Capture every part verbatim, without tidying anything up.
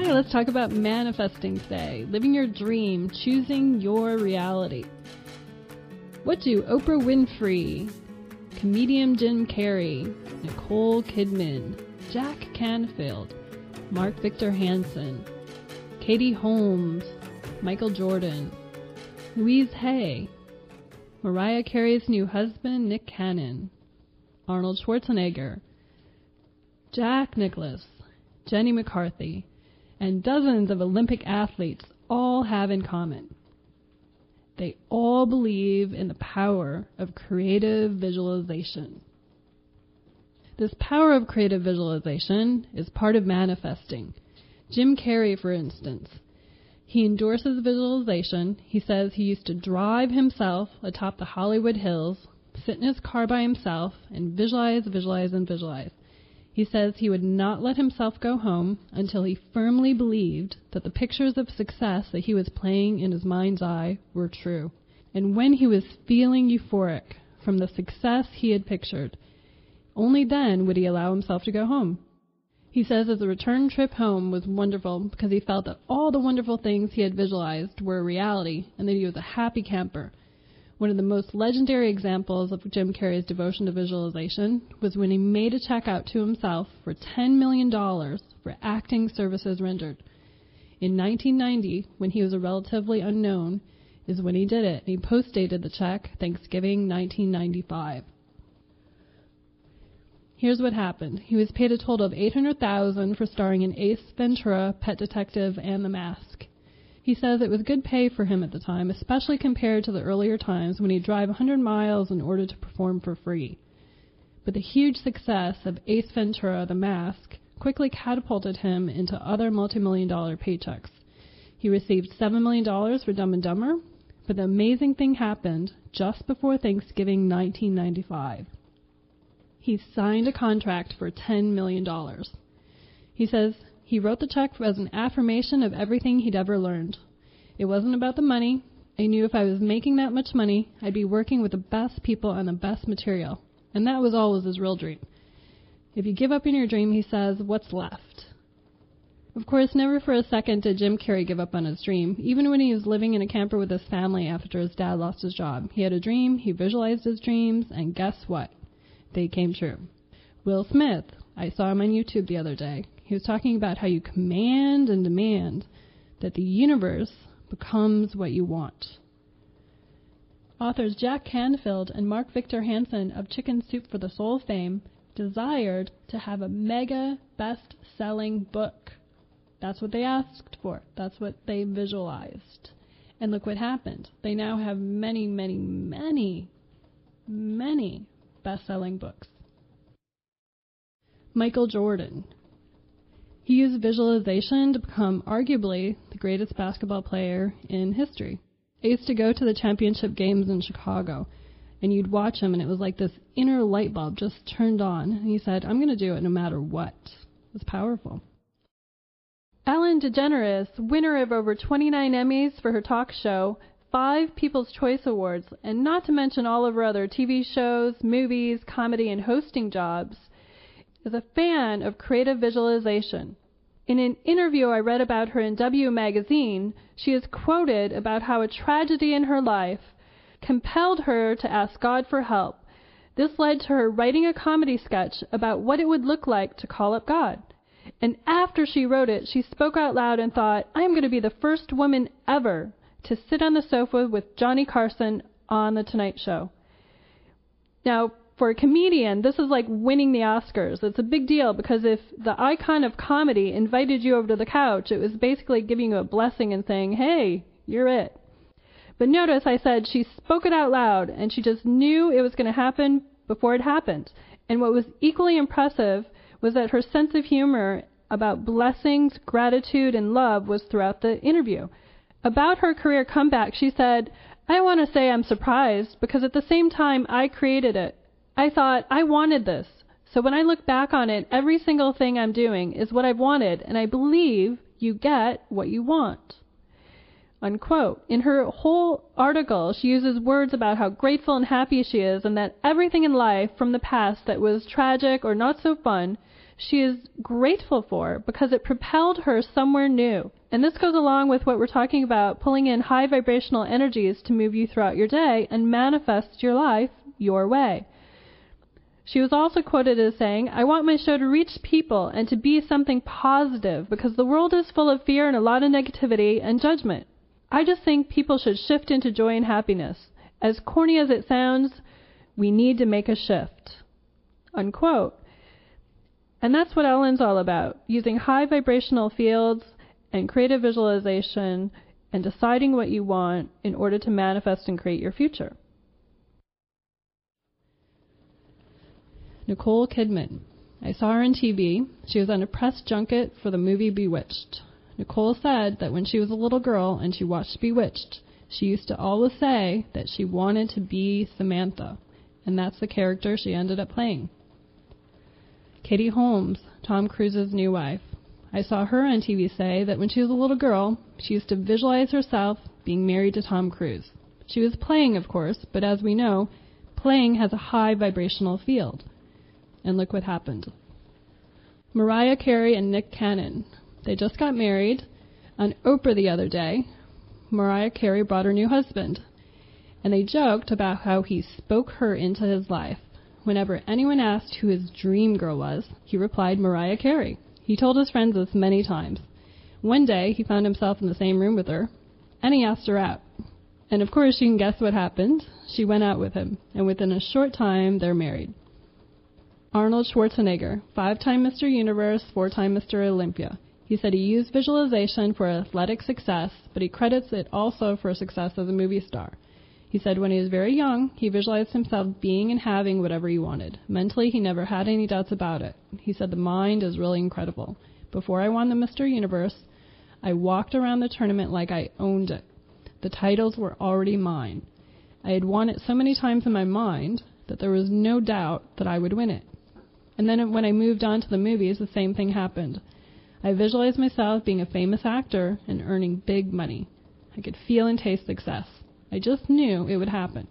Okay, let's talk about manifesting today. Living your dream, choosing your reality. What do Oprah Winfrey, comedian Jim Carrey, Nicole Kidman, Jack Canfield, Mark Victor Hansen, Katie Holmes, Michael Jordan, Louise Hay, Mariah Carey's new husband Nick Cannon, Arnold Schwarzenegger, Jack Nicklaus, Jenny McCarthy, and dozens of Olympic athletes all have in common? They all believe in the power of creative visualization. This power of creative visualization is part of manifesting. Jim Carrey, for instance, he endorses visualization. He says he used to drive himself atop the Hollywood Hills, sit in his car by himself, and visualize, visualize, and visualize. He says he would not let himself go home until he firmly believed that the pictures of success that he was playing in his mind's eye were true. And when he was feeling euphoric from the success he had pictured, only then would he allow himself to go home. He says that the return trip home was wonderful because he felt that all the wonderful things he had visualized were a reality and that he was a happy camper. One of the most legendary examples of Jim Carrey's devotion to visualization was when he made a check out to himself for ten million dollars for acting services rendered. In nineteen ninety, when he was a relatively unknown, is when he did it, and he post-dated the check Thanksgiving nineteen ninety-five. Here's what happened. He was paid a total of eight hundred thousand dollars for starring in Ace Ventura, Pet Detective, and The Mask. He says it was good pay for him at the time, especially compared to the earlier times when he'd drive one hundred miles in order to perform for free. But the huge success of Ace Ventura, The Mask, quickly catapulted him into other multi-million dollar paychecks. He received seven million dollars for Dumb and Dumber, but the amazing thing happened just before Thanksgiving nineteen ninety-five. He signed a contract for ten million dollars. He says he wrote the check as an affirmation of everything he'd ever learned. It wasn't about the money. I knew if I was making that much money, I'd be working with the best people and the best material. And that was always his real dream. If you give up on your dream, he says, what's left? Of course, never for a second did Jim Carrey give up on his dream. Even when he was living in a camper with his family after his dad lost his job, he had a dream, he visualized his dreams, and guess what? They came true. Will Smith, I saw him on YouTube the other day. He was talking about how you command and demand that the universe becomes what you want. Authors Jack Canfield and Mark Victor Hansen of Chicken Soup for the Soul fame desired to have a mega best-selling book. That's what they asked for. That's what they visualized. And look what happened. They now have many, many, many, many best-selling books. Michael Jordan. He used visualization to become arguably the greatest basketball player in history. I used to go to the championship games in Chicago, and you'd watch him, and it was like this inner light bulb just turned on. And he said, I'm going to do it no matter what. It was powerful. Ellen DeGeneres, winner of over twenty-nine Emmys for her talk show, five People's Choice Awards, and not to mention all of her other T V shows, movies, comedy, and hosting jobs, is a fan of creative visualization. In an interview I read about her in W magazine, she is quoted about how a tragedy in her life compelled her to ask God for help. This led to her writing a comedy sketch about what it would look like to call up God. And after she wrote it, she spoke out loud and thought, I am going to be the first woman ever to sit on the sofa with Johnny Carson on The Tonight Show. Now, for a comedian, this is like winning the Oscars. It's a big deal because if the icon of comedy invited you over to the couch, it was basically giving you a blessing and saying, hey, you're it. But notice I said she spoke it out loud, and she just knew it was going to happen before it happened. And what was equally impressive was that her sense of humor about blessings, gratitude, and love was throughout the interview. About her career comeback, she said, I want to say I'm surprised because at the same time I created it. I thought, I wanted this. So when I look back on it, every single thing I'm doing is what I've wanted, and I believe you get what you want. Unquote. In her whole article, she uses words about how grateful and happy she is and that everything in life from the past that was tragic or not so fun, she is grateful for because it propelled her somewhere new. And this goes along with what we're talking about, pulling in high vibrational energies to move you throughout your day and manifest your life your way. She was also quoted as saying, "I want my show to reach people and to be something positive because the world is full of fear and a lot of negativity and judgment. I just think people should shift into joy and happiness. As corny as it sounds, we need to make a shift." Unquote. And that's what Ellen's all about, using high vibrational fields and creative visualization and deciding what you want in order to manifest and create your future. Nicole Kidman. I saw her on T V. She was on a press junket for the movie Bewitched. Nicole said that when she was a little girl and she watched Bewitched, she used to always say that she wanted to be Samantha, and that's the character she ended up playing. Katie Holmes, Tom Cruise's new wife. I saw her on T V say that when she was a little girl, she used to visualize herself being married to Tom Cruise. She was playing, of course, but as we know, playing has a high vibrational field. And look what happened. Mariah Carey and Nick Cannon. They just got married. On Oprah the other day, Mariah Carey brought her new husband, and they joked about how he spoke her into his life. Whenever anyone asked who his dream girl was, he replied Mariah Carey. He told his friends this many times. One day, he found himself in the same room with her, and he asked her out. And of course, you can guess what happened. She went out with him, and within a short time, they're married. Arnold Schwarzenegger, five-time Mister Universe, four-time Mister Olympia. He said he used visualization for athletic success, but he credits it also for success as a movie star. He said when he was very young, he visualized himself being and having whatever he wanted. Mentally, he never had any doubts about it. He said the mind is really incredible. Before I won the Mister Universe, I walked around the tournament like I owned it. The titles were already mine. I had won it so many times in my mind that there was no doubt that I would win it. And then when I moved on to the movies, the same thing happened. I visualized myself being a famous actor and earning big money. I could feel and taste success. I just knew it would happen.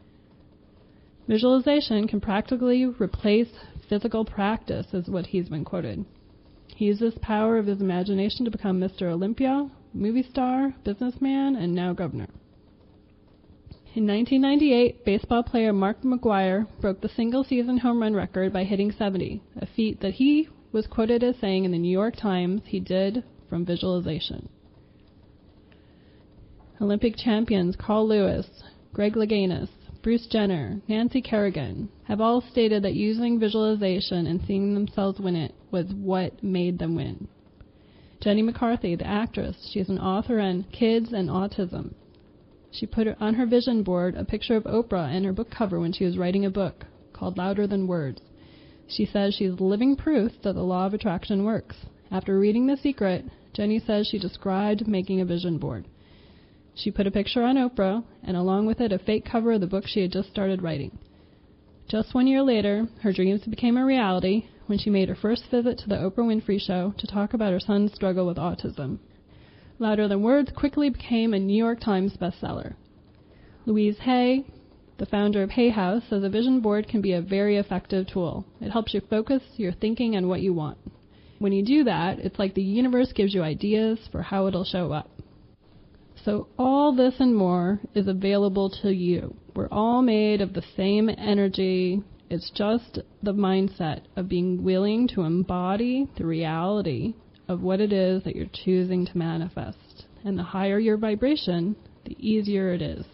Visualization can practically replace physical practice, is what he's been quoted. He used this power of his imagination to become Mister Olympia, movie star, businessman, and now governor. In nineteen ninety-eight, baseball player Mark McGwire broke the single-season home run record by hitting seventy, a feat that he was quoted as saying in the New York Times he did from visualization. Olympic champions Carl Lewis, Greg Louganis, Bruce Jenner, Nancy Kerrigan have all stated that using visualization and seeing themselves win it was what made them win. Jenny McCarthy, the actress, she is an author on kids and autism. She put on her vision board a picture of Oprah and her book cover when she was writing a book called Louder Than Words. She says she's living proof that the law of attraction works. After reading The Secret, Jenny says she described making a vision board. She put a picture on Oprah, and along with it a fake cover of the book she had just started writing. Just one year later, her dreams became a reality when she made her first visit to the Oprah Winfrey Show to talk about her son's struggle with autism. Louder Than Words quickly became a New York Times bestseller. Louise Hay, the founder of Hay House, says a vision board can be a very effective tool. It helps you focus your thinking on what you want. When you do that, it's like the universe gives you ideas for how it'll show up. So all this and more is available to you. We're all made of the same energy. It's just the mindset of being willing to embody the reality of what it is that you're choosing to manifest. And the higher your vibration, the easier it is.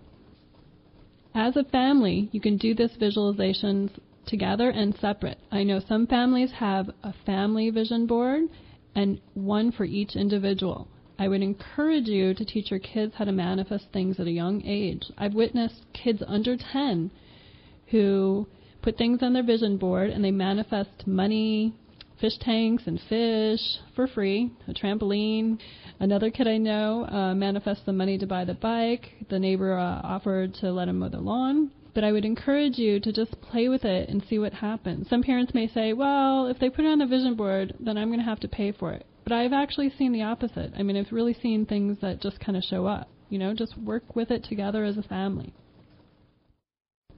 As a family, you can do this visualizations together and separate. I know some families have a family vision board and one for each individual. I would encourage you to teach your kids how to manifest things at a young age. I've witnessed kids under ten who put things on their vision board and they manifest money, fish tanks and fish for free, a trampoline. Another kid I know uh, manifests the money to buy the bike. The neighbor uh, offered to let him mow the lawn. But I would encourage you to just play with it and see what happens. Some parents may say, well, if they put it on the vision board, then I'm going to have to pay for it. But I've actually seen the opposite. I mean, I've really seen things that just kind of show up. You know, just work with it together as a family.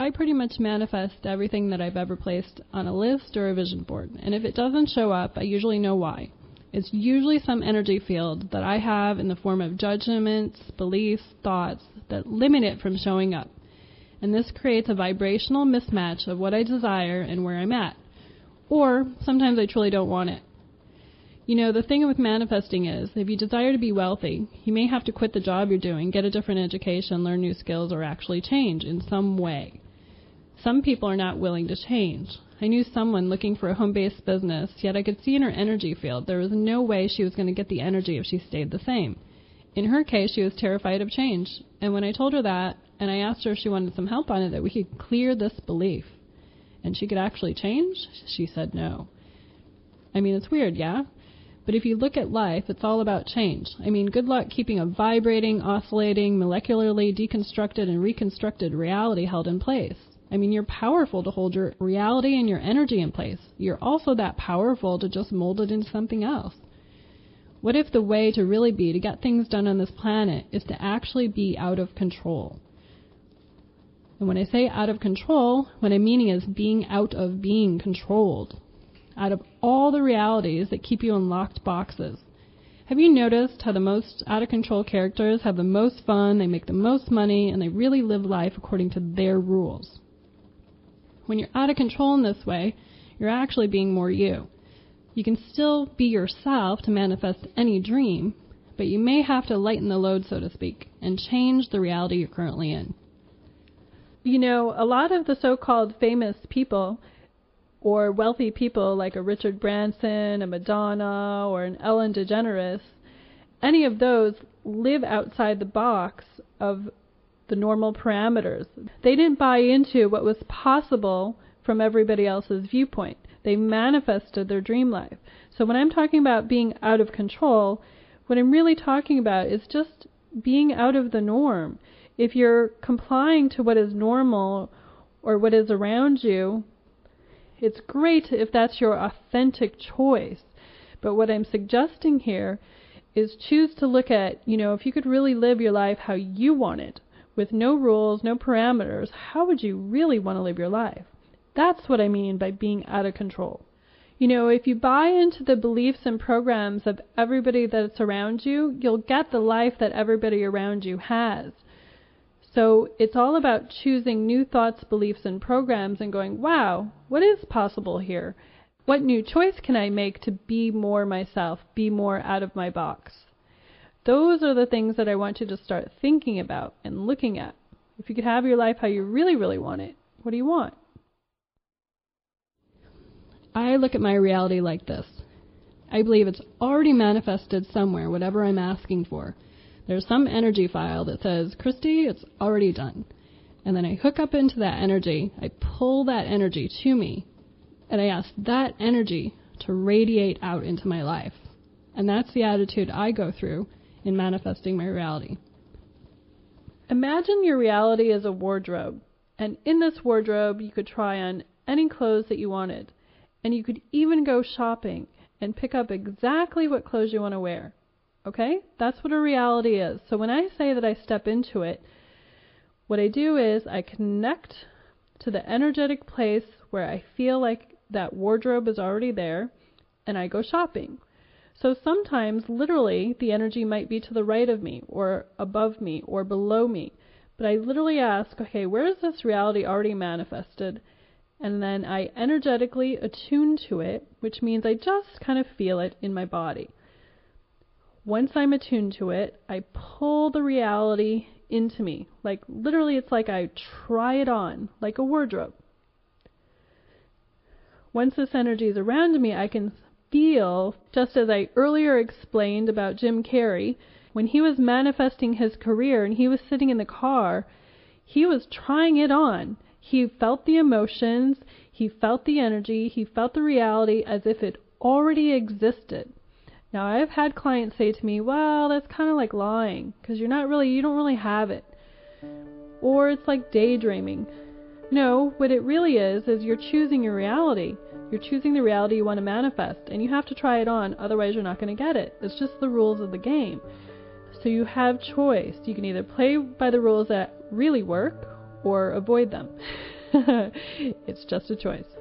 I pretty much manifest everything that I've ever placed on a list or a vision board. And if it doesn't show up, I usually know why. It's usually some energy field that I have in the form of judgments, beliefs, thoughts that limit it from showing up. And this creates a vibrational mismatch of what I desire and where I'm at. Or sometimes I truly don't want it. You know, the thing with manifesting is, if you desire to be wealthy, you may have to quit the job you're doing, get a different education, learn new skills, or actually change in some way. Some people are not willing to change. I knew someone looking for a home-based business, yet I could see in her energy field there was no way she was going to get the energy if she stayed the same. In her case, she was terrified of change. And when I told her that, and I asked her if she wanted some help on it, that we could clear this belief, and she could actually change, she said no. I mean, it's weird, yeah? But if you look at life, it's all about change. I mean, good luck keeping a vibrating, oscillating, molecularly deconstructed and reconstructed reality held in place. I mean, you're powerful to hold your reality and your energy in place. You're also that powerful to just mold it into something else. What if the way to really be, to get things done on this planet, is to actually be out of control? And when I say out of control, what I'm meaning is being out of being controlled. Out of all the realities that keep you in locked boxes. Have you noticed how the most out-of-control characters have the most fun, they make the most money, and they really live life according to their rules? When you're out of control in this way, you're actually being more you. You can still be yourself to manifest any dream, but you may have to lighten the load, so to speak, and change the reality you're currently in. You know, a lot of the so-called famous people or wealthy people like a Richard Branson, a Madonna, or an Ellen DeGeneres, any of those live outside the box of the normal parameters. They didn't buy into what was possible from everybody else's viewpoint. They manifested their dream life. So when I'm talking about being out of control, what I'm really talking about is just being out of the norm. If you're complying to what is normal or what is around you, it's great if that's your authentic choice. But what I'm suggesting here is choose to look at, you know, if you could really live your life how you want it, with no rules, no parameters, how would you really want to live your life? That's what I mean by being out of control. You know, if you buy into the beliefs and programs of everybody that's around you, you'll get the life that everybody around you has. So it's all about choosing new thoughts, beliefs, and programs and going, wow, what is possible here? What new choice can I make to be more myself, be more out of my box? Those are the things that I want you to start thinking about and looking at. If you could have your life how you really, really want it, what do you want? I look at my reality like this. I believe it's already manifested somewhere, whatever I'm asking for. There's some energy file that says, Christy, it's already done. And then I hook up into that energy, I pull that energy to me, and I ask that energy to radiate out into my life. And that's the attitude I go through in manifesting my reality. Imagine your reality as a wardrobe, and in this wardrobe you could try on any clothes that you wanted, and you could even go shopping and pick up exactly what clothes you want to wear. Okay? That's what a reality is. So when I say that I step into it, what I do is I connect to the energetic place where I feel like that wardrobe is already there, and I go shopping. So sometimes, literally, the energy might be to the right of me, or above me, or below me. But I literally ask, okay, where is this reality already manifested? And then I energetically attune to it, which means I just kind of feel it in my body. Once I'm attuned to it, I pull the reality into me. Like, literally, it's like I try it on, like a wardrobe. Once this energy is around me, I can feel, just as I earlier explained about Jim Carrey, when he was manifesting his career and he was sitting in the car, he was trying it on. He felt the emotions, he felt the energy, he felt the reality as if it already existed. Now, I've had clients say to me, well, that's kind of like lying, because you're not really, you don't really have it. Or it's like daydreaming. No, what it really is, is you're choosing your reality. You're choosing the reality you want to manifest, and you have to try it on, otherwise you're not going to get it. It's just the rules of the game. So you have choice. You can either play by the rules that really work, or avoid them. It's just a choice.